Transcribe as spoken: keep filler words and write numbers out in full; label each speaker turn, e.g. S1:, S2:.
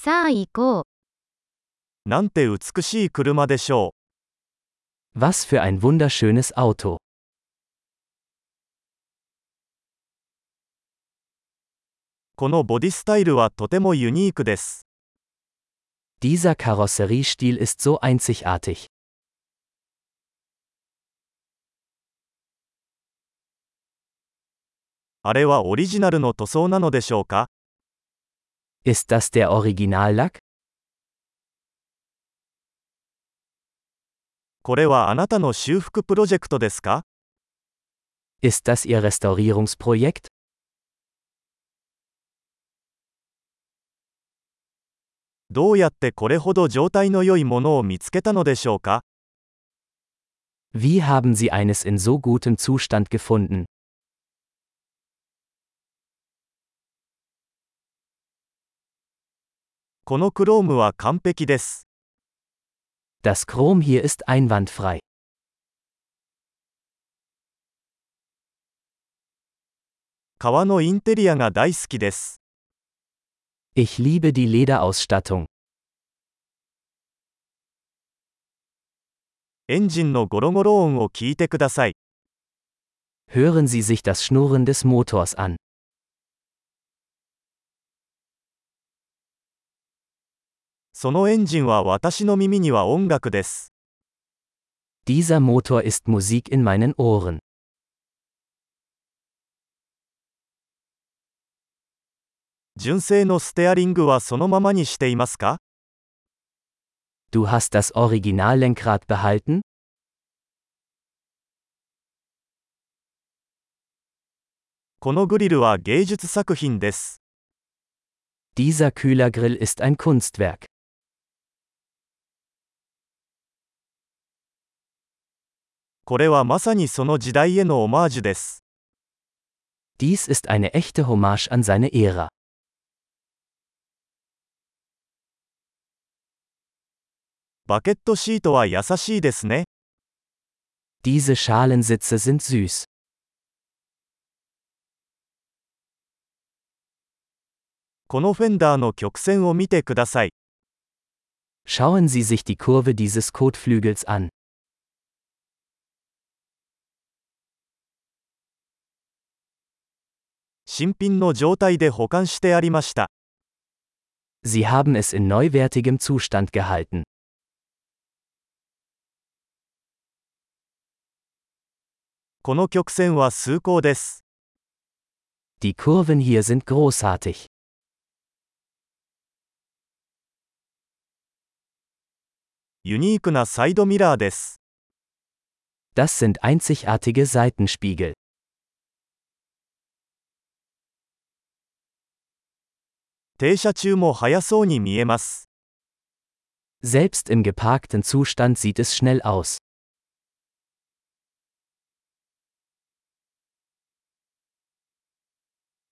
S1: さあ行こう。
S2: なんて美しい車でしょ
S3: Was für ein wunderschönes Auto.
S2: う。このボディスタイルはとてもユニークです。
S3: Dieser Karosseriestil ist so einzigartig.
S2: あれはオリジナルの塗装なのでしょうか？
S3: Ist das der Originallack?
S2: これはあなたの修復プロジェクトですか？
S3: Ist das Ihr Restaurierungsprojekt?
S2: どうやってこれほど状態の良いものを見つけたのでしょうか？
S3: Wie haben Sie eines in so gutem Zustand gefunden?
S2: このクロームは完璧です。
S3: Das Chrom hier ist einwandfrei.
S2: 革のインテリアが大好きです。
S3: Ich liebe die Lederausstattung.
S2: エンジンのゴロゴロ音を聞いてください。
S3: Hören Sie sich das Schnurren des Motors an.
S2: そのエンジンは私の耳には音楽です。
S3: Dieser Motor ist Musik in meinen Ohren.
S2: 純正のステアリングはそのままにしていますか？
S3: Du hast das Originallenkrad behalten?
S2: このグリルは芸術作品です。
S3: Dieser Kühlergrill ist ein Kunstwerk.
S2: これはまさにその時代へのオマージュです。
S3: Dies ist eine echte Hommage an seine Ära.
S2: バケットシートは優しいですね。
S3: Diese Schalensitze sind süß.
S2: このフェンダーの曲線を見てください。
S3: Schauen Sie sich die Kurve dieses Kotflügels an.
S2: 新品の状態で保管してありました。
S3: Sie haben es in neuwertigem Zustand gehalten.
S2: この曲線は崇高です。
S3: Die Kurven hier sind großartig.
S2: ユニークなサイドミラーです。
S3: Das sind einzigartige Seitenspiegel.
S2: 停車中も速そうに見えます。
S3: Selbst im geparkten Zustand sieht es schnell aus.